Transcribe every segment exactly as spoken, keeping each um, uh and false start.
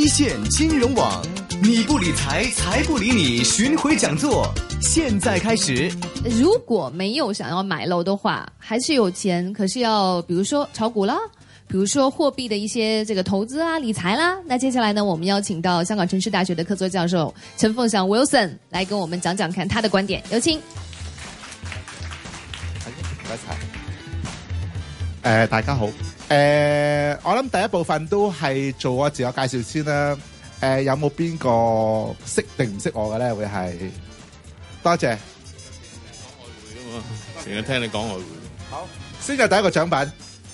線金融網，你不理財，財不理你。巡迴講座現在開始。 如果沒有想要買樓的話，還是有錢，可是要，比如說炒股啦，比如說貨幣的一些這個投資啊、理財啦。那接下來呢，我們邀請到香港城市大學的客座教授陳鳳翔 Wilson 來跟我們講講看他的觀點。有請。 一齊。誒，大家好。誒、呃，我諗第一部分都係做我自我介紹先啦。誒、呃，有冇邊個識定唔識我嘅咧？會係多謝。 成日聽你講外匯。 好，先有第一個獎品。誒、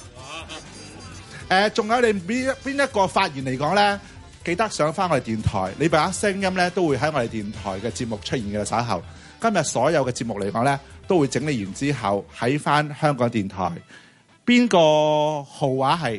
呃，仲有你邊邊一個發言嚟講咧？記得上翻我哋電台，你把聲音咧都會喺我哋電台嘅節目出現嘅。稍後今日所有嘅節目嚟講咧，都會整理完之後喺翻香港電台。邊個號話係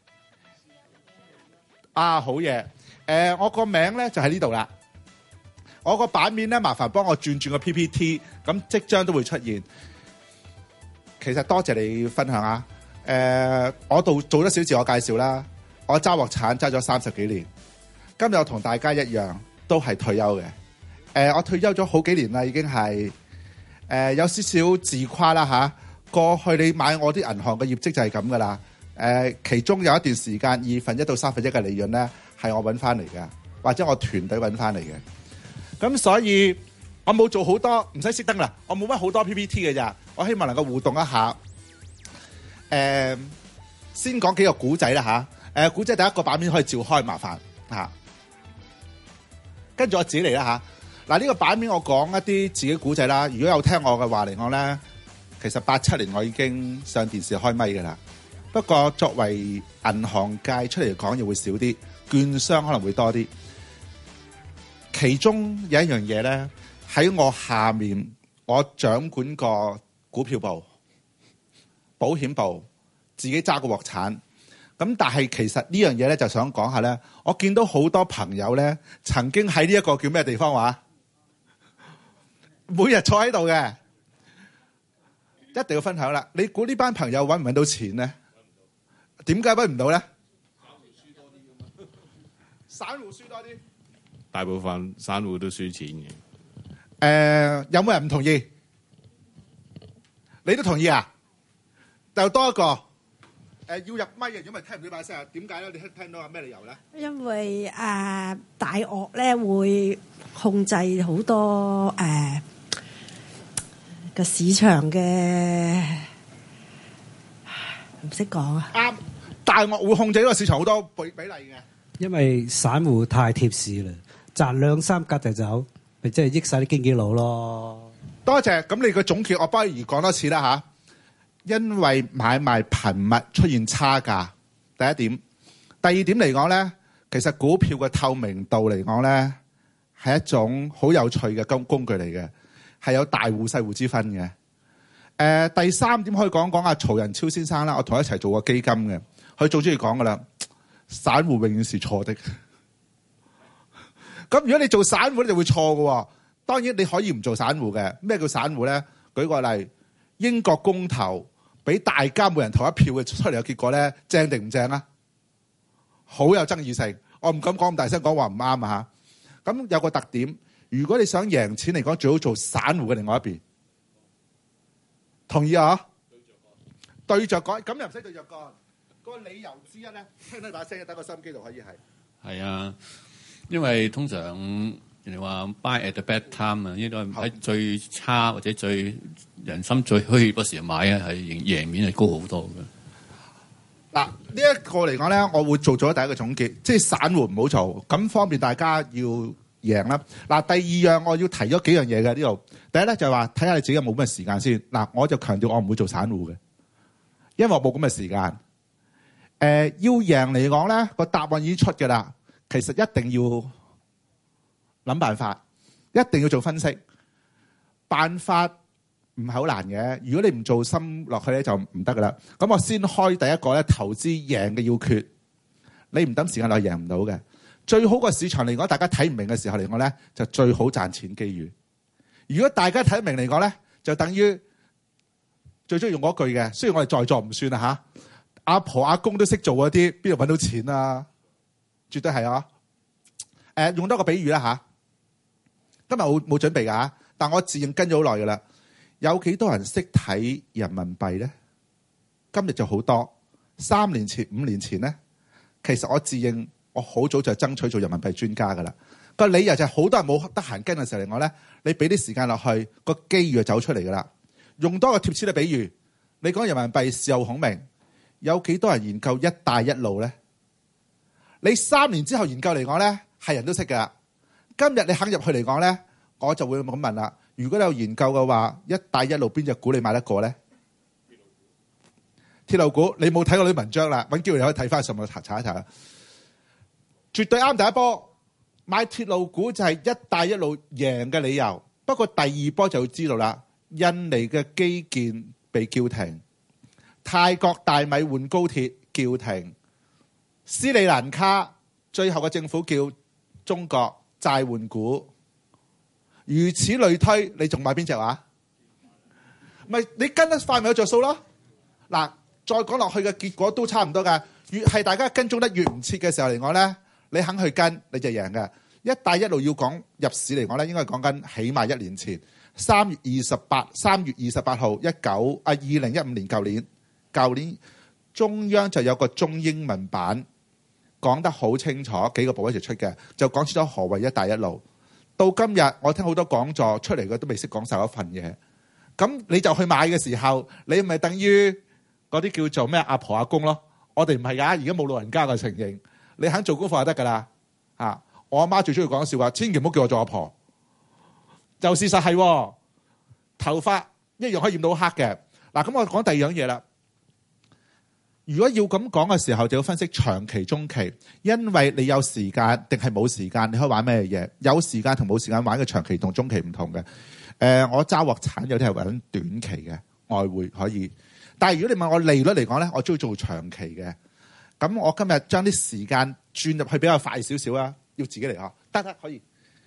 啊？好嘢！誒、呃，我個名咧就喺呢度啦。我個版面咧，麻煩幫我轉轉個 P P T， 咁即將都會出現。其實多謝你分享啊！誒、呃，我度做咗少自我介紹啦。我揸鑊鏟揸咗三十幾年，今日我同大家一樣都係退休嘅。誒、呃，我退休咗好幾年啦，已經係誒、呃、有少少自誇啦嚇。過去你買我啲銀行嘅業績就係咁噶啦，誒、呃，其中有一段時間二分一到三分一嘅利潤咧係我揾翻嚟嘅，或者我團隊揾翻嚟嘅。咁所以我冇做好多，唔使熄燈啦，我冇乜好多 P P T 嘅咋，我希望能夠互動一下。誒、呃，先講幾個古仔啦吓，誒、呃，古仔第一個版面可以照開，麻煩吓。跟住我自己嚟啦吓，嗱、啊、呢、這個版面我講一啲自己古仔啦，如果有聽我嘅話嚟講咧。其實八七年我已經上電視開咪㗎啦，不過作為銀行界出嚟講，又會少啲，券商可能會多啲。其中有一樣嘢咧，喺我下面，我掌管個股票部、保險部，自己揸個鑊鏟。咁但係其實呢樣嘢咧，就想講下咧，我見到好多朋友咧，曾經喺呢一個叫咩地方話，每日坐喺度嘅。一定要分享啦！你估呢班朋友揾唔揾到錢咧？點解揾唔到咧？散戶輸多啲， 大部分散戶都輸錢嘅。誒、 呃，有冇人唔同意？你都同意啊？就多一個。誒、呃，要入咪嘅，如果唔係聽唔到把聲啊？點解咧？你聽聽到啊？咩理由咧？ 因為誒、呃、大鱷咧會控制好多誒。呃個市場嘅唔識講啊！ 啱，大鱷會控制呢個市場好多比比例嘅。 因為散戶太貼市啦，賺兩三格就走，咪即係益晒啲經紀佬咯。 多謝，咁你個總結我不如講多次啦吓。因為買賣頻密出現差價，第一點。第二點嚟講咧，其實股票嘅透明度嚟講咧，係一種好有趣嘅工工具嚟嘅。係有大戶細戶之分嘅。誒、呃，第三點可以講講阿曹仁超先生啦，我同佢一齊做過基金嘅，佢最中意講噶啦，散戶永遠是錯的。咁如果你做散戶咧，就會錯嘅。當然你可以唔做散戶嘅。咩叫散戶咧？舉個例，英國公投俾大家每人投一票嘅出嚟嘅結果咧，正定唔正啊？好有爭議性，我唔敢講咁大聲講話唔啱啊吓。咁有個特點。如果你想贏錢嚟講，最好做散戶嘅另外一邊，同意啊？對着幹，咁又唔使對着幹。個理由之一咧，聽到把聲，等個收音機度可以係。 係啊，因為通常人哋話 buy at the bad time 啊，應該喺最差或者最人心最虛嗰時候買啊，係贏面係高好多嘅。 嗱，呢一個嚟講咧，我會做咗第一個總結，即係散戶唔好做，咁方便大家要。贏啦！嗱，第二樣我要提咗幾樣嘢嘅呢度。第一咧就係話睇下你自己有冇咁嘅時間先。嗱，我就強調我唔會做散戶嘅，因為我冇咁嘅時間。誒、呃，要贏嚟講咧，個答案已經出嘅啦。其實一定要諗辦法，一定要做分析。辦法唔係好難嘅，如果你唔做心落去咧，就唔得噶啦。咁我先開第一個咧，投資贏嘅要訣。你唔等時間落去贏唔到嘅。最好個市場嚟講，大家睇唔明嘅時候嚟講咧，就最好賺錢機遇。如果大家睇得明嚟講咧，就等於最中意用嗰句嘅。雖然我哋在座唔算啊嚇，阿婆阿公都識做嗰啲，邊度揾到錢啊？絕對係啊！ 呃、用多個比喻啦嚇。今日冇冇準備㗎嚇，但我自認跟咗好耐㗎啦。有幾多人識睇人民幣咧？今日就好多。三年前、五年前咧，其實我自認我好早就爭取做人民幣專家㗎啦。個理由就係好多人冇得閒跟嘅時候嚟講咧，你俾啲時間落去，個機遇就走出嚟㗎啦。用多個貼切嘅比喻，你講人民幣事後孔明，有幾多人研究一帶一路咧？你三年之後研究嚟講咧，係人都識㗎。今日你肯入去嚟講咧，我就會咁問啦。如果你有研究嘅話，一帶一路邊隻股你買得過咧？鐵路股，你冇睇過啲文章啦，揾機會你可以睇翻上網查查一查。絕對啱第一波。買鐵路股就係一帶一路贏嘅理由，不過第二波就要知道啦。印尼嘅基建被叫停，泰國大米換高鐵叫停，斯里蘭卡最後嘅政府叫中國債換股，如此類推，你仲買邊隻話？咪你跟得快咪有着數咯。嗱，再講落去嘅結果都差唔多㗎。越係大家跟蹤得越唔切嘅時候嚟講咧，你肯去跟你就贏嘅。一帶一路要講入市嚟講咧，應該係講緊起碼一年前三月二十八三月二十八號一九啊二零一五年舊年舊年中央就有個中英文版講得好清楚，幾個部委一齊出嘅，就講清楚何謂一帶一路。到今日我聽好多講座出嚟嘅都未識講晒嗰份嘢，咁你就去買嘅時候，你咪等於嗰啲叫做咩阿婆阿公咯。我哋唔係㗎，而家冇老人家嘅情形。你肯做功課就得㗎啦。啊，我阿媽最中意講笑話，千祈唔好叫我做阿婆。就事實係、哦，頭髮一樣可以染到黑嘅。嗱，咁我講第二樣嘢啦。如果要咁講嘅時候，就要分析長期、中期，因為你有時間定係冇時間，你可以玩咩嘢？有時間同冇時間玩嘅長期同中期唔同嘅。誒、呃，我揸鑊鏟有啲係玩短期嘅外匯可以，但係如果你問我利率嚟講咧，我中意做長期嘅。咁我今日將啲時間轉入去比較快少少啦，要自己嚟嗬，得得可以，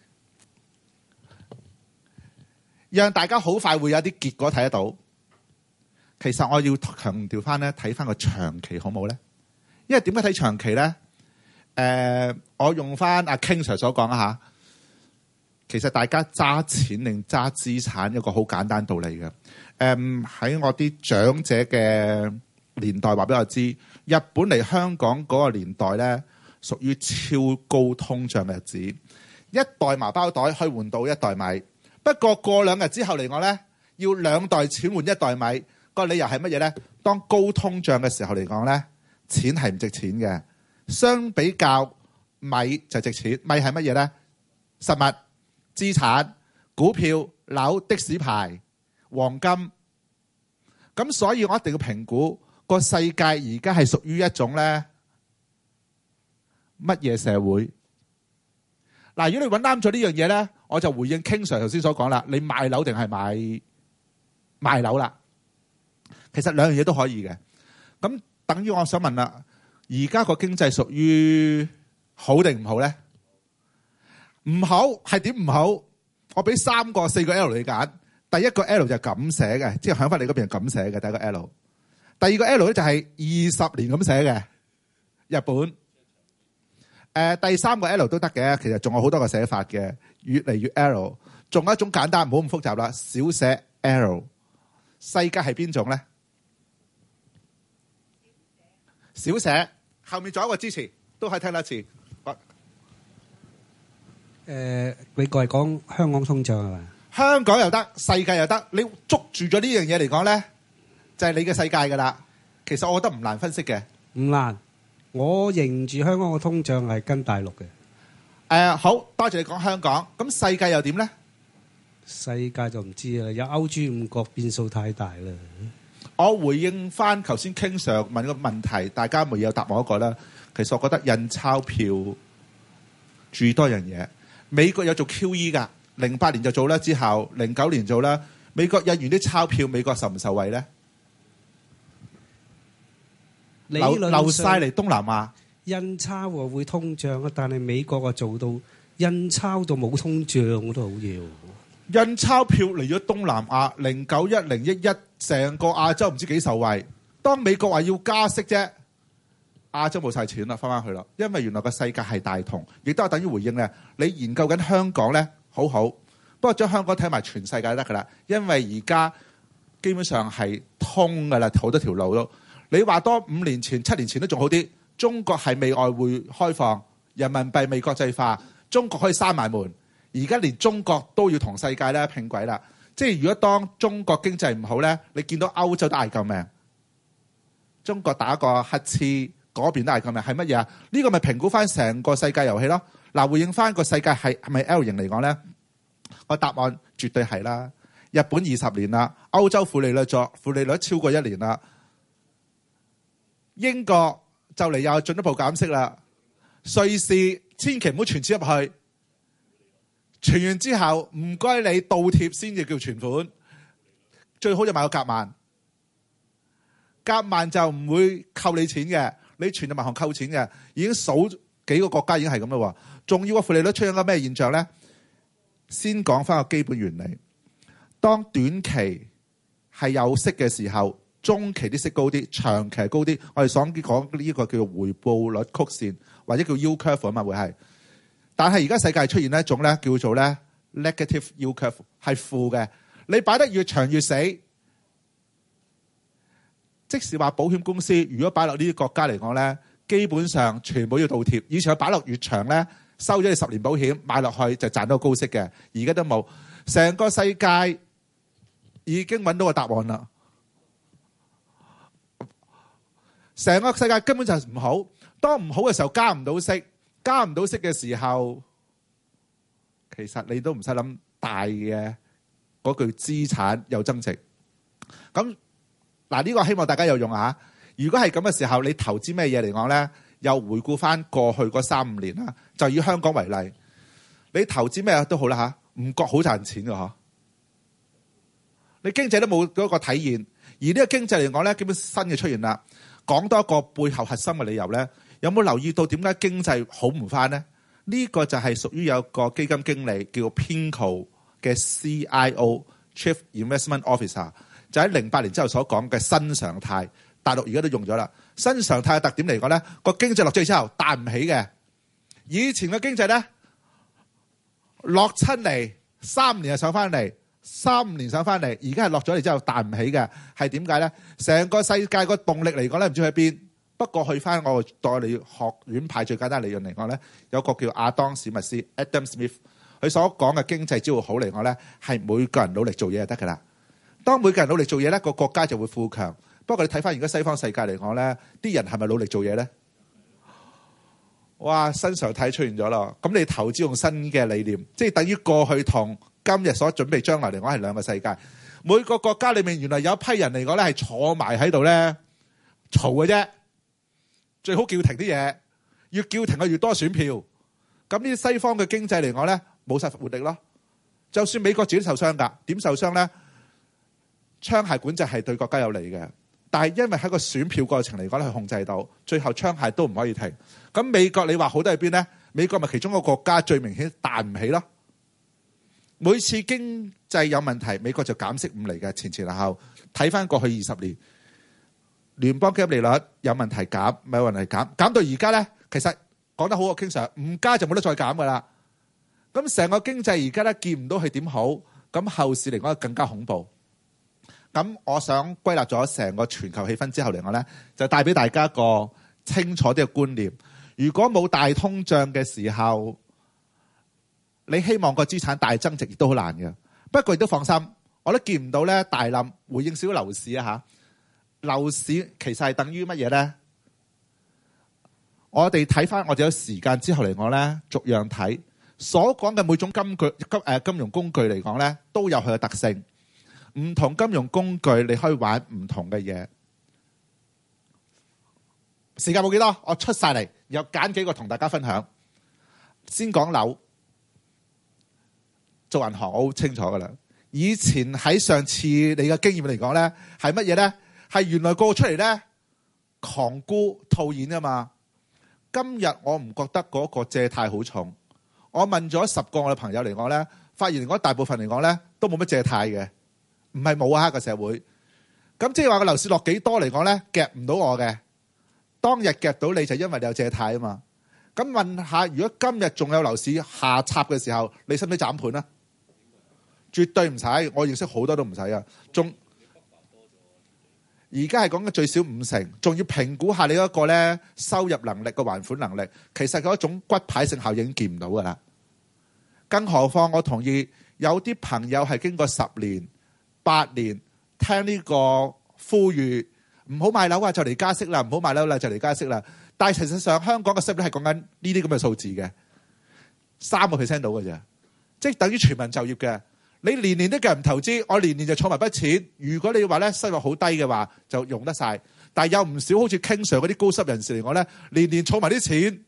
讓大家好快會有啲結果睇得到。其實我要強調翻咧，睇翻個長期好冇咧？因為點解睇長期咧？誒、呃，我用翻阿 King Sir 所講啊嚇，其實大家揸錢定揸資產一個好簡單道理嘅。誒、呃、喺我啲長者嘅年代話俾我知，日本嚟香港嗰個年代咧，屬於超高通脹嘅日子，一袋麻包袋可以換到一袋米。不過過兩日之後嚟講咧，要兩袋錢換一袋米。個理由係乜嘢咧？當高通脹嘅時候嚟講咧，錢係唔值錢嘅。相比較米就值錢。米係乜嘢咧？實物、資產、股票、樓、的士牌、黃金。咁所以我一定要評估個世界而家係屬於一種咧乜嘢社會？嗱，如果你揾啱咗呢樣嘢咧，我就回應 King Sir 頭先所講啦。你買樓定係買賣樓啦？其實兩樣嘢都可以嘅。咁等於我想問啦，而家個經濟屬於好定唔好咧？唔好係點唔好？我俾三個、四個 L 你揀。第一個 L 就係咁寫嘅，即係響翻你嗰邊係咁寫嘅。第一個 L， 第二個 L 咧就係二十年咁寫嘅。日本。誒、呃，第三個 L 都得嘅，其實仲有好多個寫法嘅，越嚟越 L。仲有一種簡單，唔好咁複雜啦，小寫 L。世界係邊種咧？小寫後面仲有一個支持，都可以聽得一次。誒、 呃，美國係講香港通脹係嘛？ 香港又得，世界又得。你捉住咗呢樣嘢嚟講咧，就係、是、你嘅世界㗎啦。其實我覺得唔難分析嘅，唔難。我認住香港嘅通脹係跟大陸嘅。誒、 呃，好多謝你講香港。咁世界又點咧？ 世界就唔知啦，有歐豬五國變數太大啦。 我回應翻頭先 King Sir 問個問題，大家咪有答我一個啦。其實我覺得印鈔票注意多樣嘢。美國有做 Q E 㗎，零八年就做啦，之後零九年做啦。美國印完啲鈔票，美國受唔受惠咧？流流晒嚟東南亞。 印鈔喎會通脹啊，但係美國啊做到印鈔到冇通脹，我都好嘢喎。 印鈔票嚟咗東南亞，零九一零一一成個亞洲唔知幾受惠。當美國話要加息啫， 亞洲冇晒錢啦，翻返去啦，因為原來個世界係大同，亦都係等於回應咧。你研究緊香港咧，好好，不過將香港睇埋全世界就得㗎啦，因為而家基本上係通㗎啦，好多條路都。你話多五年前、七年前都仲好啲，中國係未外匯開放，人民幣未國際化，中國可以閂埋門。而家連中國都要同世界咧拼軌啦，即係如果當中國經濟唔好咧，你見到歐洲都嗌救命，中國打個乞嗤，嗰邊都嗌救命，係乜嘢啊？呢個咪評估翻成個世界遊戲咯。嗱，回應翻個世界係係咪 L 型嚟講咧？個答案絕對係啦。日本二十年啦，歐洲負利率咗，負利率超過一年啦。英國就嚟又進一步減息啦。瑞士千祈唔好存錢入去。存完之後唔該你倒貼先至叫存款，最好就買個夾萬，夾萬就唔會扣你錢嘅，你存入銀行扣錢嘅，已經數幾個國家已經係咁啦。仲要個負利率出現個咩現象咧？先講翻個基本原理，當短期係有息嘅時候，中期啲息高啲，長期高啲，我哋所講呢個叫做回報率曲線或者叫 yield curve 啊嘛，會係。但係而家世界出現一種咧叫做咧 negative yield curve 係負嘅，你擺得越長越死。即使話保險公司如果擺落呢啲國家嚟講咧，基本上全部要倒貼。以前擺落越長咧，收咗你十年保險買落去就賺到高息嘅，而家都冇。成個世界已經揾到個答案啦。成個世界根本就係唔好，當唔好嘅時候加唔到息。加唔到息嘅時候，其實你都唔使諗大嘅嗰句資產有增值。咁嗱，呢個希望大家有用啊！如果係咁嘅時候，你投資咩嘢嚟講咧？又回顧翻過去嗰三五年啦，就以香港為例，你投資咩都好啦嚇，唔覺好賺錢嘅嗬。你經濟都冇嗰個體現，而呢個經濟嚟講咧，基本新嘅出現啦。講多一個背後核心嘅理由咧。有冇留意到點解經濟好唔翻呢？呢、這個就係屬於有個基金經理叫 Pinko 嘅 C I O（Chief Investment Officer），就喺零八年之後所講嘅新常態。大陸而家都用咗啦。新常態嘅特點嚟講咧，個經濟落咗去之後彈唔起嘅。以前嘅經濟咧落親嚟三年就上翻嚟，三年上翻嚟，而家係落咗嚟之後彈唔起嘅。係點解咧？成個世界個動力嚟講咧，唔知去邊。不過去翻我代理學院派最簡單理論嚟講咧，有個叫亞當史密斯 Adam Smith， 佢所講嘅經濟只要好嚟講咧，係每個人努力做嘢就得㗎啦。當每個人努力做嘢咧，個國家就會富強。不過你睇翻而家西方世界嚟講咧，啲人係咪努力做嘢咧？哇！新常態出現咗咯。咁你投資用新嘅理念，即係等於過去同今日所準備將來嚟講係兩個世界。每個國家裏面原來有一批人嚟講咧係坐埋喺度咧嘈嘅啫。最好叫停啲嘢，越叫停嘅越多選票。咁呢啲西方嘅經濟嚟講咧，冇晒活力咯。就算美國自己受傷㗎，點受傷咧？槍械管制係對國家有利嘅，但係因為喺個選票過程嚟講咧，係控制到，最後槍械都唔可以停。咁美國你話好得喺邊咧？美國咪其中一個國家最明顯彈唔起咯。每次經濟有問題，美國就減息五厘嘅，前前後後睇翻過去二十年。聯邦基金利率有問題減，咪有問題減，減到而家咧，其實講得好，我經常唔加就冇得再減噶啦。咁成個經濟而家咧見唔到佢點好，咁後市嚟講更加恐怖。咁我想歸納咗成個全球氣氛之後嚟講咧，就帶俾大家一個清楚啲嘅觀念。如果冇大通脹嘅時候，你希望個資產大增值亦都好難嘅。不過亦都放心，我都見唔到咧大冧。回應少少樓市啊嚇。樓市其實係等於乜嘢咧？我哋睇翻，我哋有時間之後嚟講咧，逐樣睇所講嘅每種金具金誒金融工具嚟講咧，都有佢嘅特性。唔同金融工具你可以玩唔同嘅嘢。時間冇幾多，我出晒嚟，又揀幾個同大家分享。先講樓，做銀行我好清楚噶啦。以前喺上次你嘅經驗嚟講咧，係乜嘢咧？係原來個出嚟咧，狂沽套現啊嘛！今日我唔覺得嗰個借貸好重。我問咗十個我嘅朋友嚟講咧，發現嚟講大部分嚟講咧都冇乜借貸嘅，唔係冇啊個社會。咁即係話個樓市落幾多嚟講咧，夾唔到我嘅。 當日夾到你就因為你有借貸啊嘛。咁問下，如果今日仲有樓市下插嘅時候，你使唔使斬盤啊？絕對唔使，我認識好多都唔使啊。仲而家係講緊最少五成，仲要評估下你嗰個咧收入能力個還款能力，其實嗰種骨牌性效應見唔到噶啦。更何況我同意有啲朋友係經過十年、八年聽呢個呼籲，唔好買樓啊，就嚟加息啦，唔好買樓啦，就嚟加息啦。但係事實上香港嘅息率係講緊呢啲咁嘅數字嘅，三個 percent 到嘅啫，即係等於全民就業嘅。你年年都叫人投資，我年年就儲埋筆錢。如果你話咧收入好低嘅話，就用得晒。但係有唔少好似 King Sir嗰啲高收入人士嚟講咧，年年儲埋啲錢。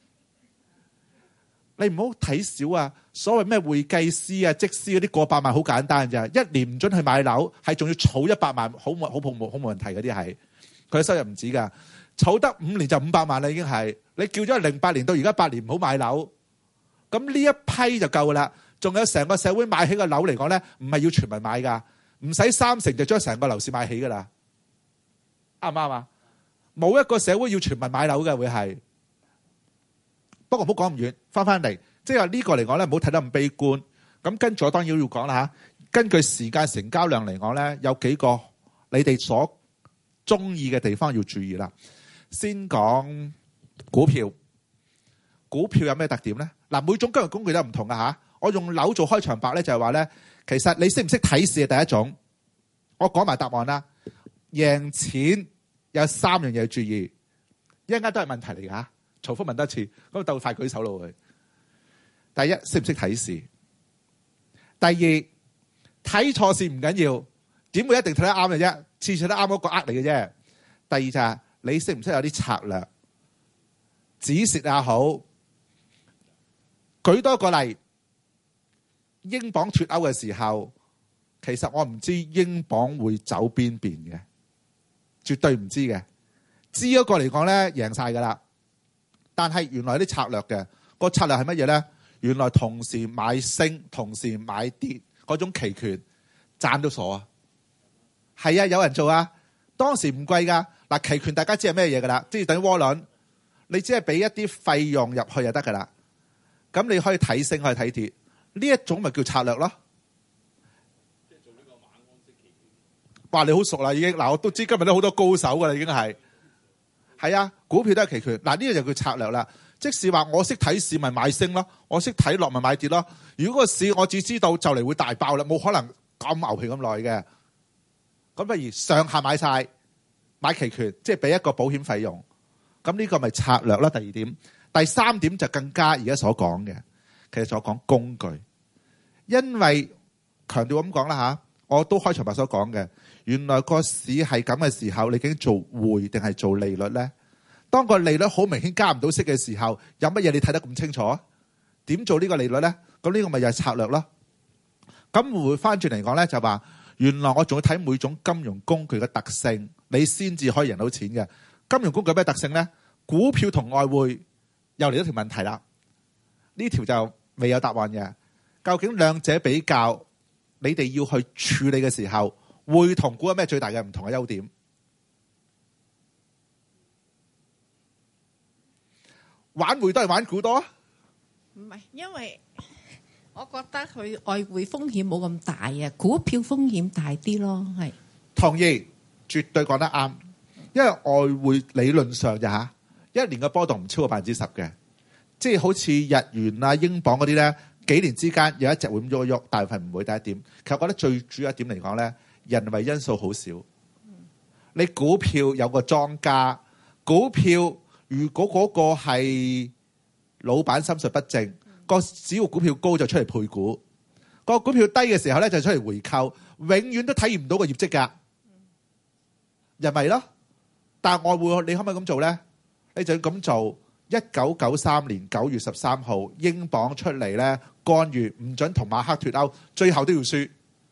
你唔好睇少啊！所謂咩會計師啊、則師嗰啲過百萬好簡單咋，一年唔准去買樓，係仲要儲一百萬，好冇好冇好冇問題嗰啲係。佢嘅收入唔止㗎，儲得五年就五百萬啦已經係。你叫咗零八年到而家八年唔好買樓，咁呢一批就夠啦。仲有成個社會買起個樓嚟講咧，唔係要全民買㗎，唔使三成就將成個樓市買起㗎啦，啱唔啱啊？冇一個社會要全民買樓嘅會係。不過唔好講咁遠，翻翻嚟，即係話呢個嚟講咧，唔好睇得咁悲觀。咁跟住我當然要講啦嚇。根據時間成交量嚟講咧，有幾個你哋所中意嘅地方要注意啦。先講股票，股票有咩特點咧？嗱，每種金融工具都唔同㗎嚇。我用樓做開場白咧，就係話咧，其實你識唔識睇市係第一種。我講埋答案啦。贏錢有三樣嘢要注意，一陣間都係問題嚟㗎。重複問多次，咁鬥快舉手咯會。第一，識唔識睇市？第二，睇錯市唔緊要，點會一定睇得啱嘅啫？次次都啱嗰個呃你嘅啫。第二就係你識唔識有啲策略？止蝕也好，舉多個例。英鎊脫歐嘅時候，其實我唔知英鎊會走邊邊嘅，絕對唔知嘅。知嗰個嚟講咧，贏晒噶啦。但係原來有啲策略嘅，個策略係乜嘢咧？原來同時買升，同時買跌嗰種期權，賺到傻啊！係啊，有人做啊。當時唔貴噶，嗱，期權大家知係咩嘢噶啦？即係等於窩輪，你只係俾一啲費用入去就得噶啦。咁你可以睇升，可以睇跌。呢一種咪叫策略咯。即係做呢個馬鞍式期權。哇！你好熟啦，已經嗱，我都知今日都好多高手噶啦，已經係。係啊，股票都係期權。嗱，呢個就叫策略啦。即使話我識睇市咪買升咯，我識睇落咪買跌咯。如果個市我只知道就嚟會大爆啦，冇可能咁牛皮咁耐嘅。咁不如上下買晒，買期權，即係俾一個保險費用。咁呢個咪策略啦。第二點，第三點就更加而家所講嘅，其實所講工具。因為強調咁講啦嚇，我都開場白所講嘅，原來個市係咁嘅時候，你究竟做匯定係做利率咧？當個利率好明顯加唔到息嘅時候，有乜嘢你睇得咁清楚啊？點做呢個利率咧？咁呢個咪又係策略咯。咁回翻轉嚟講咧，就話原來我仲要睇每種金融工具嘅特性，你先至可以贏到錢嘅。金融工具有咩特性咧？股票同外匯又嚟一條問題啦。呢條就未有答案嘅。究竟兩者比較，你哋要去處理嘅時候，匯同股有咩最大嘅唔同嘅優點？玩匯都係玩股多？ 唔係，因為我覺得佢外匯風險冇咁大啊，股票風險大啲咯。係同意，絕對講得啱。因為外匯理論上就嚇一年嘅波動唔超過百分之十嘅，即係好似日元啊、英鎊嗰啲咧。幾年之間有一隻會咁喐一喐，大部分唔會。第一點，其實我覺得最主要一點嚟講咧，人為因素好少。你股票有個莊家，股票如果嗰個係老闆心術不正，個只要股票高就出嚟配股，個股票低嘅時候咧就出嚟回購，永遠都體驗唔到個業績㗎。人為咯，但係外匯你可唔可以咁做咧？你就要咁做。一九九三年九月十三號，英鎊出嚟咧干預，唔准同馬克脫歐，最後都要輸。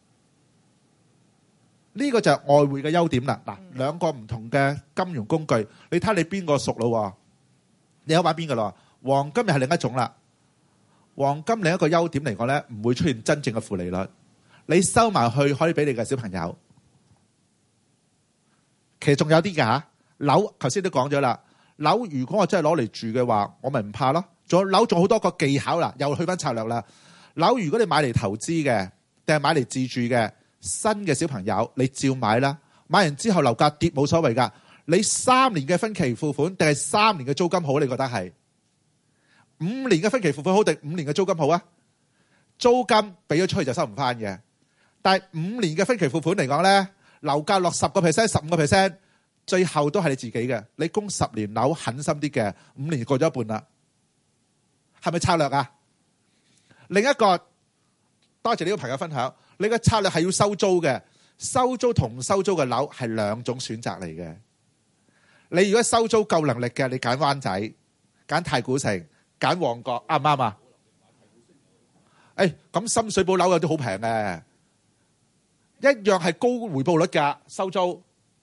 呢個就係外匯嘅優點啦。嗱，兩個唔同嘅金融工具，你睇下你邊個熟咯？你有玩邊個咯？黃金又係另一種啦。黃金另一個優點嚟講咧，唔會出現真正嘅負利率，你收埋去可以俾你嘅小朋友。其實仲有啲㗎嚇，樓頭先都講咗啦。 樓如果我真係攞嚟住嘅話，我咪唔怕咯。仲有樓仲好多個技巧啦，又去翻策略啦。樓如果你買嚟投資嘅，定係買嚟自住嘅，新嘅小朋友你照買啦。買完之後樓價跌冇所謂㗎。你三年嘅分期付款定係三年嘅租金好？你覺得係五年嘅分期付款好定五年嘅租金好啊？租金俾咗出去就收唔翻嘅，但係五年嘅分期付款嚟講咧，樓價落十個 percent、十五個 percent，最後都係你自己嘅。你供十年樓狠心啲嘅，五年過咗一半啦，係咪策略啊？另一個，多謝呢個朋友分享，你嘅策略係要收租嘅，收租同收租嘅樓係兩種選擇嚟嘅。你如果收租夠能力嘅，你揀灣仔、揀太古城、揀旺角，啱唔啱啊？誒，咁深水埗樓有啲好平嘅，一樣係高回報率㗎，收租。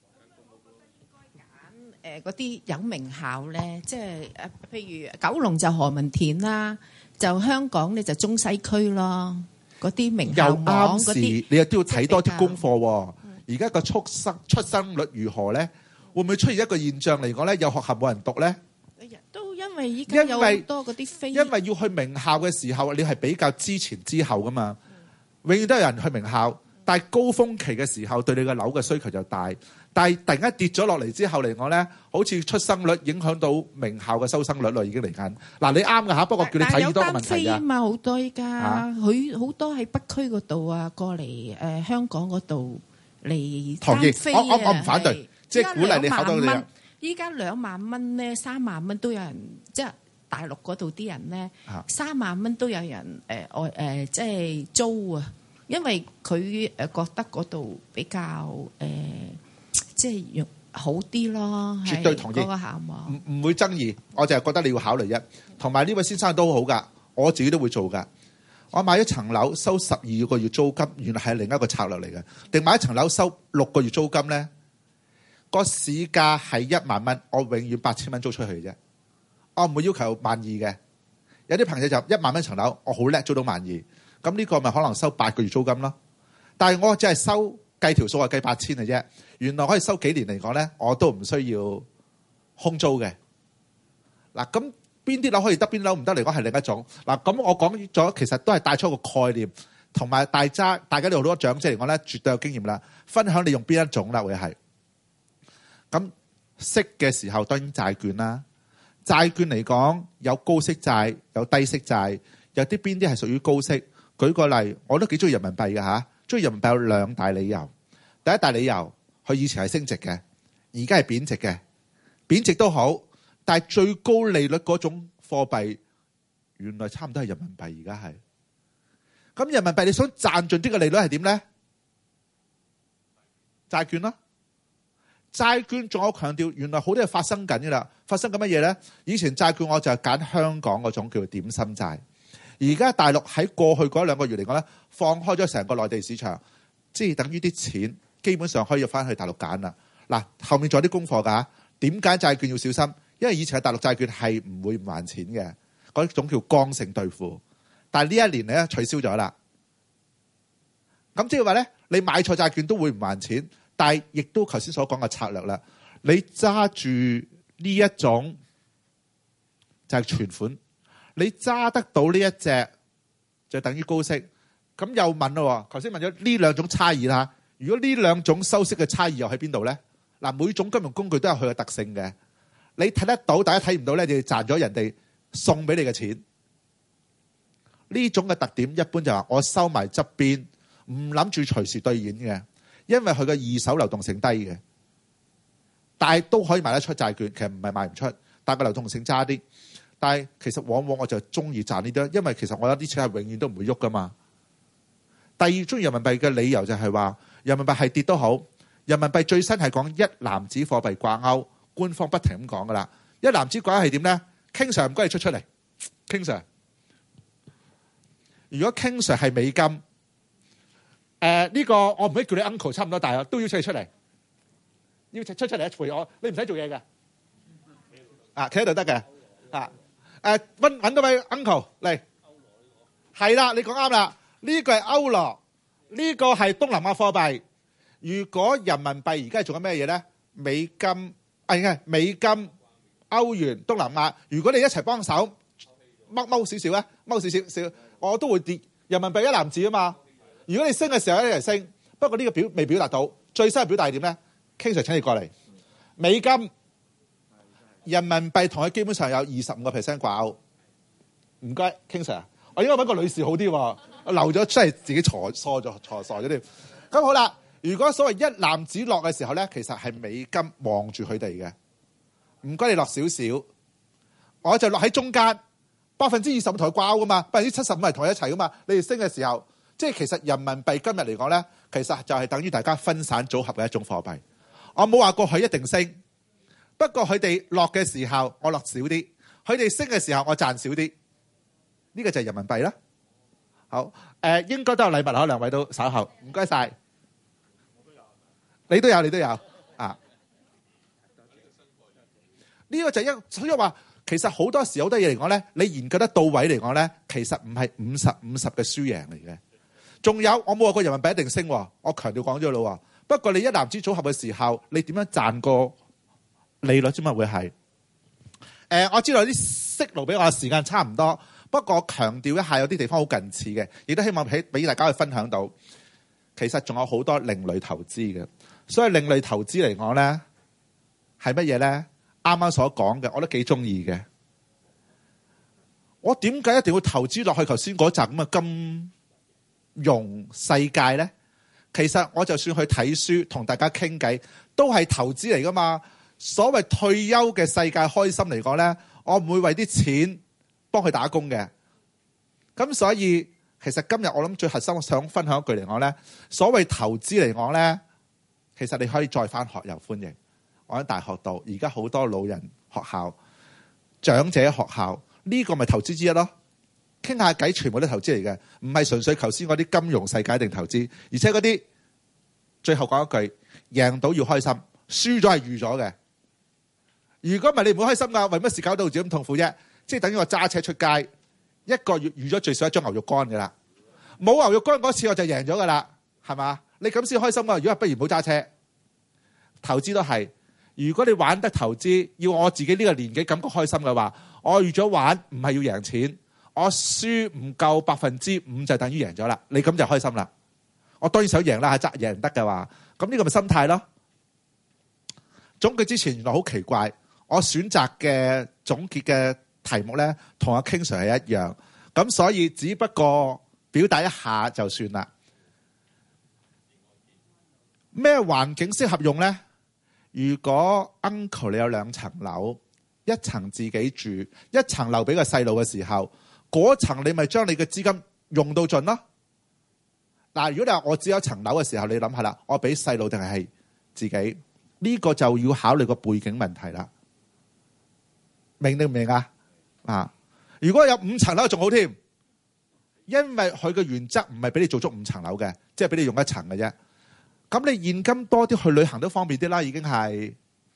誒嗰啲有名校咧，即係誒，譬如九龍就何文田啦，就香港咧就中西區咯，嗰啲名校網嗰啲， 你又都要睇多啲功課喎。而家個出生出生率如何咧？會唔會出現一個現象嚟講咧？有學校冇人讀咧？ 都因為依家有好多嗰啲飛， 因為要去名校嘅時候，你係比較之前之後噶嘛。永遠都有人去名校，但係高峰期嘅時候對你嘅樓嘅需求就大。但係突然間跌咗落嚟之後嚟講咧，好似出生率影響到名校嘅收生率咯，已經嚟緊。嗱，你啱㗎嚇，不過叫你睇呢多個問題㗎。但係有單飛啊嘛，好多依家佢好多喺北區嗰度啊，過嚟誒、呃、香港嗰度嚟單飛啊。同意，我我我唔反對，即係鼓勵你考到你啊。依家兩萬蚊咧，三萬蚊都有人，即係大陸嗰度啲人咧，三萬蚊都有人誒外誒，即係租啊。因為佢誒覺得嗰度比較誒、呃，即係用好啲咯。絕對同意嗰個項目，唔唔會爭議。我就係覺得你要考慮一，同埋呢位先生都好㗎，我自己都會做㗎。我買一層樓收十二個月租金，原來係另一個策略嚟嘅。定買一層樓收六個月租金咧？個市價係一萬蚊，我永遠八千蚊租出去啫。我唔會要求萬二嘅。有啲朋友就一萬蚊層樓，我好叻租到萬二，咁呢個咪可能收八個月租金咯。但係我只係收計條數係計八千嘅啫。原來可以收幾年嚟講咧，我都唔需要空租嘅。嗱，咁邊啲樓可以得，邊啲樓唔得嚟講係另一種。嗱，咁我講咗其實都係帶出一個概念，同埋大家大家都好多長者嚟講咧，絕對有經驗啦。分享你用邊一種啦，會係。咁息嘅時候當然債券啦，債券嚟講有高息債，有低息債，有啲邊啲係屬於高息。舉個例，我都幾中意人民幣嘅嚇，中意人民幣有兩大理由。第一大理由，佢以前係升值嘅，而家係貶值嘅，貶值都好，但係最高利率嗰種貨幣原來差唔多係人民幣，而家係。咁人民幣你想賺盡啲嘅利率係點咧？債券咯。債券仲有強調，原來好多嘢發生緊嘅啦。發生緊乜嘢咧？以前債券我就係揀香港嗰種叫做點心債，而家大陸喺過去嗰兩個月嚟講咧，放開咗成個內地市場，即係等於啲錢基本上可以入翻去大陸揀啦。嗱，後面仲有啲功課㗎。點解債券要小心？因為以前嘅大陸債券係唔會唔還錢嘅，嗰種叫剛性兌付。但係呢一年咧取消咗啦。咁即係話咧，你買錯債券都會唔還錢。但係亦都頭先所講嘅策略啦，你揸住呢一種就係存款，你揸得到呢一隻就等於高息。咁又問咯，頭先問咗呢兩種差異啦。如果呢兩種收息嘅差異又喺邊度咧？嗱，每種金融工具都有佢嘅特性嘅。你睇得到，大家睇唔到咧，你賺咗人哋送俾你嘅錢。呢種嘅特點一般就話我收埋側邊，唔諗住隨時兌現嘅。因為佢嘅二手流動性低嘅，但係都可以賣得出債券。其實唔係賣唔出，但係個流動性差啲。但係其實往往我就中意賺呢啲，因為其實我有啲錢係永遠都唔會喐噶嘛。第二，中意人民幣嘅理由就係話，人民幣係跌都好，人民幣最新係講一籃子貨幣掛鈎，官方不停咁講噶啦。一籃子掛鈎係點咧？King Sir唔該你出出嚟，King Sir。如果 King Sir 係美金。誒、呃、呢、這個我唔可以叫你 uncle， 差唔多大啊，都要請你出嚟，要出出嚟陪我，你唔使做嘢嘅，啊企喺度得嘅，啊誒揾揾到位 uncle 嚟，係啦，你講啱啦，呢、這個係歐羅，呢、這個係東南亞貨幣。如果人民幣而家係做緊咩嘢咧？美金，啊，美金歐元、東南亞，如果你一齊幫手踎踎少少啊，踎少少少，我都會跌。人民幣一籃子啊嘛，如果你升嘅時候一齊升，不過呢個表未表達到，最新嘅表達係點咧？King Sir請你過嚟，美金、人民幣同佢基本上有二十五個 percent 掛鈎。唔該，King Sir，我應該揾個女士好啲喎，我漏咗真係自己錯錯咗錯傻咗添。咁好啦，如果所謂一籃子落嘅時候咧，其實係美金望住佢哋嘅。唔該，你落少少，我就落喺中間。百分之二十五同佢掛鈎噶嘛，百分之七十五係同佢一齊噶嘛。你哋升嘅時候，即係其實人民幣今日嚟講咧，其實就係等於大家分散組合嘅一種貨幣。我冇話過佢一定升，不過佢哋落嘅時候我落少啲，佢哋升嘅時候我賺少啲。呢個就係人民幣啦。好，誒、呃、應該都有禮物啦，兩位都稍後，唔該晒。你都有，你都有啊。呢、這個就係一，所以話。其實好多時好多嘢嚟講咧，你研究得到位嚟講咧，其實唔係五十五十嘅輸贏嚟嘅。仲有我冇話過人民幣一定升，我強調講咗咯。不過你一籃子組合嘅時候，你點樣賺個利率啫嘛？會係誒，我知道啲息路俾我嘅時間差唔多，不過我強調一下，有啲地方好近似嘅，亦都希望俾俾大家去分享到。其實仲有好多另類投資嘅，所以另類投資嚟講咧係乜嘢咧？啱啱所講嘅，我都幾中意嘅。我點解一定要投資落去頭先嗰集咁嘅金融世界咧？其實我就算去睇書同大家傾偈，都係投資嚟噶嘛。所謂退休嘅世界開心嚟講咧，我唔會為啲錢幫佢打工嘅。咁所以其實今日我諗最核心我想分享一句嚟講咧，所謂投資嚟講咧，其實你可以再返學又歡迎。我喺大學度，而家好多老人學校、長者學校，呢個咪投資之一咯。傾下偈，全部都投資嚟嘅，唔係純粹頭先嗰啲金融世界定投資。而且嗰啲最後講一句，贏到要開心，輸咗係預咗嘅。如果唔係你唔會開心㗎，為乜事搞到自己咁痛苦啫？即係等於我揸車出街，一個月預咗最少一張牛肉乾㗎啦。冇牛肉乾嗰次我就贏咗㗎啦，係嘛？你咁先開心啊！如果不如唔好揸車，投資都係。如果你玩得投資，要我自己呢個年紀感覺開心嘅話，我預咗玩唔係要贏錢，我輸唔夠百分之五就等於贏咗啦。你咁就開心啦。我當然想贏啦，係贏唔得嘅話，咁呢個咪心態咯。總結之前原來好奇怪，我選擇嘅總結嘅題目咧，同阿 King Sir 係一樣，咁所以只不過表達一下就算啦。咩環境適合用咧？如果 uncle 你有兩層樓，一層自己住，一層留俾個細路嘅時候，嗰層你咪將你嘅資金用到盡咯。嗱，如果你話我只有一層樓嘅時候，你諗下啦，我俾細路定係自己？呢個就要考慮個背景問題啦。明定唔明啊？啊，如果有五層樓仲好添，因為佢嘅原則唔係俾你做足五層樓嘅，即係俾你用一層嘅啫。咁你現金多啲去旅行都方便啲啦，已經係。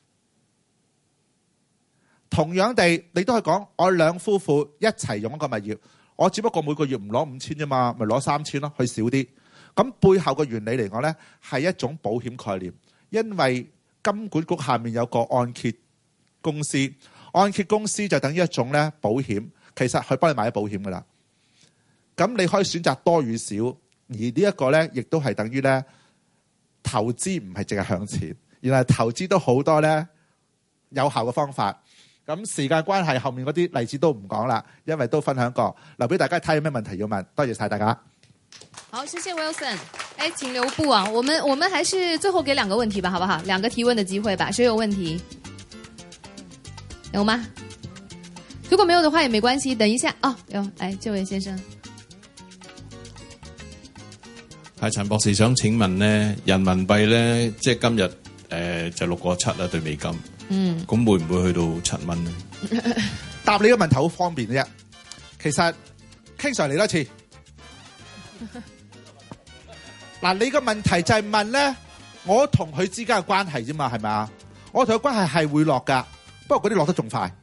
同樣地，你都係講我兩夫婦一齊用一個物業，我只不過每個月唔攞五千啫嘛，咪攞三千咯，去少啲。咁背後嘅原理嚟講呢，係一種保險概念，因為金管局下面有個按揭公司，按揭公司就等於一種咧保險，其實佢幫你買咗保險噶啦。咁你可以選擇多與少，而呢一個呢，亦都係等於呢。投資唔係淨係向前，原來投資都好多咧有效嘅方法。咁時間關係，後面嗰啲例子都唔講啦，因為都分享過，留俾大家睇有咩問題要問。多謝晒大家。 好，謝謝 Wilson。哎，請留步啊！我們我們還是最後給兩個問題吧，好不好？兩個提問的機會吧。誰有問題？有嗎？如果沒有的話也沒關係，等一下。哦，有，哎，這位先生。 係陳博士想請問咧，人民幣咧，即係今日誒、呃、就六個七啦對美金，嗯，咁會唔會去到七蚊咧？ 答你個問題好方便嘅啫。其實 King Sir 嚟多次，嗱，你個問題就係問咧，我同佢之間嘅關係啫嘛，係咪啊？我同佢關係係會落噶，不過嗰啲落得仲快。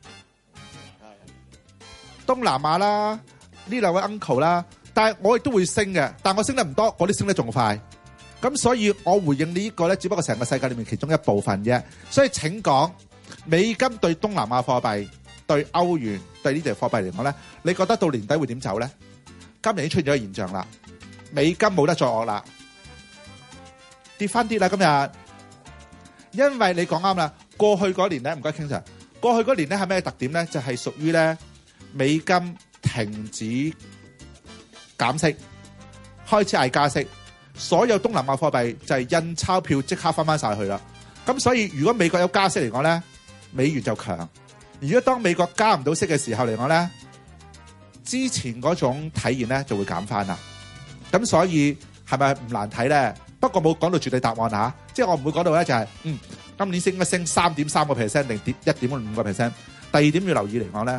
東南亞啦，呢兩位 uncle 啦。但係我亦都會升嘅，但我升得唔多，嗰啲升得仲快。咁所以我回應呢個咧，只不過成個世界裏面其中一部分啫。所以請講， 美金對東南亞貨幣、對歐元、對呢啲貨幣嚟講咧，你覺得到年底會點走咧？今年已經出現咗個現象啦，美金冇得再惡啦，跌翻啲啦今日，因為你講啱啦，過去嗰年咧，唔該傾上，過去嗰年咧係咩特點咧？就係屬於咧美金停止減息，開始嗌加息，所有東南亞貨幣就係印鈔票即刻翻翻晒去啦。咁所以如果美國有加息嚟講咧，美元就強；如果當美國加唔到息嘅時候嚟講咧，之前嗰種體現咧就會減翻啦。咁所以係咪唔難睇咧？不過冇講到絕對答案嚇，即係我唔會講到咧就係嗯今年升一升三點三個 percent 定跌一點五個 percent。第二點要留意嚟講咧，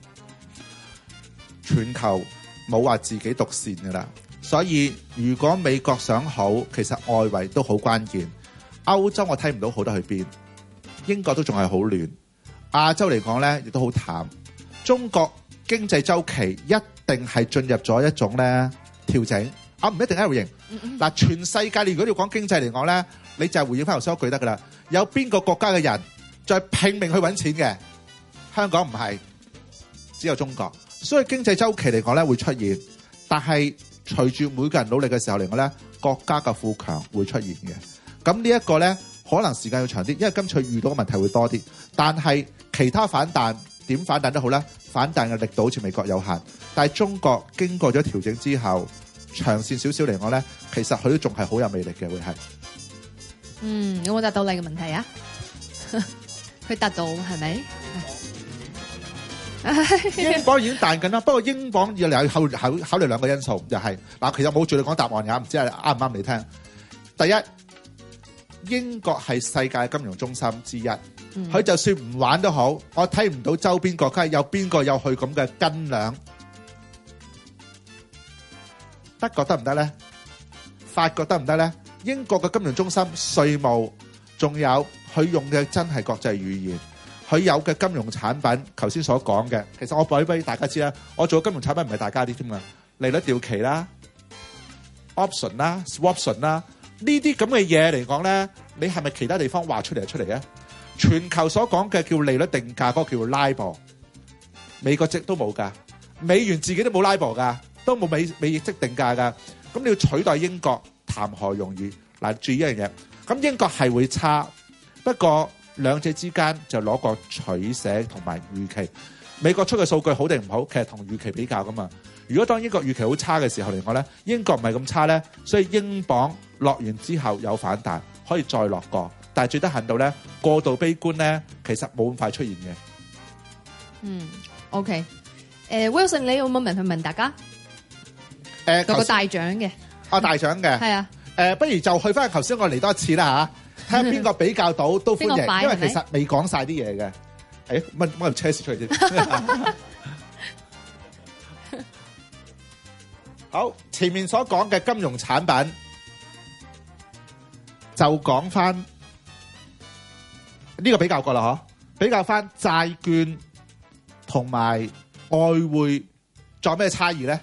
全球冇話自己獨善㗎啦。所以如果美國想好，其實外圍都好關鍵。歐洲我睇唔到好得去邊，英國都仲係好亂，亞洲嚟講咧亦都好淡。中國經濟周期一定係進入咗一種咧調整，啊唔一定係回應。嗱，全世界你如果要講經濟嚟講咧，你就係回應翻頭先嗰句得噶啦。有邊個國家嘅人在拼命去揾錢嘅？香港唔係，只有中國。所以經濟周期嚟講咧會出現，但係隨住每個人努力嘅時候嚟講咧，國家嘅富強會出現嘅。咁呢一個咧，可能時間要長啲，因為今次遇到嘅問題會多啲。但係其他反彈點反彈都好啦，反彈嘅力度好似美國有限。但係中國經過咗調整之後，長線少少嚟講咧，其實佢都仲係好有魅力嘅，會係。 嗯，有冇答到你嘅問題啊？佢答到係咪？ 英鎊已經彈緊啦，不過英鎊要嚟考考考慮兩個因素，就係、是、嗱，其實冇住你講答案㗎，唔知係啱唔啱你聽。第一。英國係世界金融中心之一，佢、嗯、就算唔玩都好，我睇唔到周邊國家有邊個有去咁嘅斤兩。德國得唔得咧？法國得唔得咧？英國嘅金融中心、稅務，仲有佢用嘅真係國際語言，佢有嘅金融產品，頭先所講嘅，其實我講俾大家知啦，我做嘅金融產品唔係大家啲添嘛，利率掉期啦、option 啦、swaption 啦。呢啲咁嘅嘢嚟講咧，你係咪其他地方畫出嚟就出嚟啊？全球所講嘅叫利率定價嗰個叫 LIBOR， 美國即都冇㗎，美元自己都冇 LIBOR 㗎，都冇美美即定價㗎。咁你要取代英國，談何容易？嗱，注意一樣嘢，咁英國係會差，不過兩者之間就攞個取捨同埋預期。美國出嘅數據好定唔好，其實同預期比較㗎嘛。如果當英國預期好差嘅時候嚟講咧，英國唔係咁差咧，所以英鎊落完之後有反彈，可以再落過，但係最得閒到咧過度悲觀咧，其實冇咁快出現嘅。嗯 ，OK， 誒、uh, Wilson， 你有冇問題問大家？誒、 呃， 有個大獎嘅， 啊大獎嘅，係啊，誒、呃，不如就去翻頭先我嚟多一次啦嚇，睇下邊個比較到都歡迎，因為其實未講晒啲嘢嘅。誒，乜乜條車匙出嚟先？好，前面所講嘅金融產品就講翻呢個比較過啦，嗬？比較翻債券同埋外匯，仲有咩差異咧？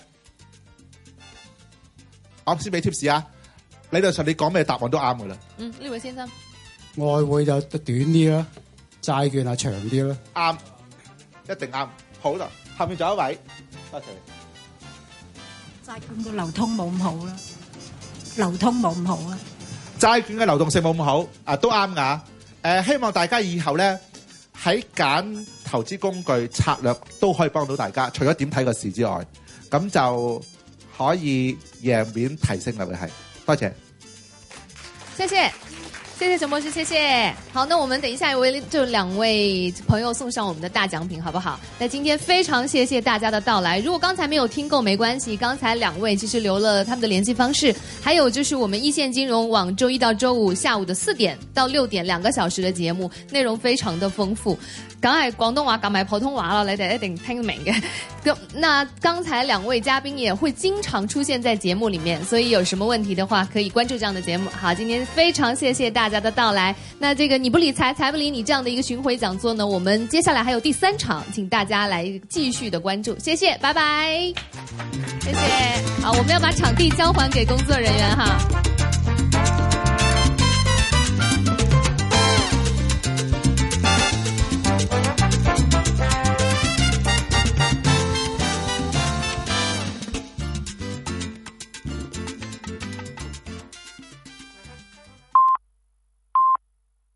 我先俾 tips 啊，理論上你講咩答案都啱噶啦。 嗯，呢位先生， 外匯就短啲啦，債券係長啲啦。 啱，一定啱。好啦，後面仲有一位，多謝。 債券個流通冇咁好啦，流通冇咁好啦。 債券嘅流動性冇咁好，啊都啱㗎。誒、呃，希望大家以後咧喺揀投資工具策略都可以幫到大家。除咗點睇個市之外，咁就可以贏面提升啦。會係，多謝。 謝謝。謝謝陳博士，謝謝。好，那我們等一下為就兩位朋友送上我們的大獎品，好不好？那今天非常謝謝大家的到來。如果剛才沒有聽夠，沒關係，剛才兩位其實留了他們的聯繫方式，還有就是我們一線金融網周一到周五下午的四點到六點兩個小時的節目，內容非常的豐富。梗係廣東話夾埋普通話啦，你哋一定聽明嘅。咁，那剛才兩位嘉賓也會經常出現在節目裡面，所以有什麼問題的話，可以關注這樣的節目。好，今天非常謝謝大家的到來。那這個你不理財，財不理你這樣的一個巡迴講座呢，我們接下來還有第三場，請大家來繼續的關注。謝謝，拜拜。謝謝。好，我們要把場地交還給工作人員哈。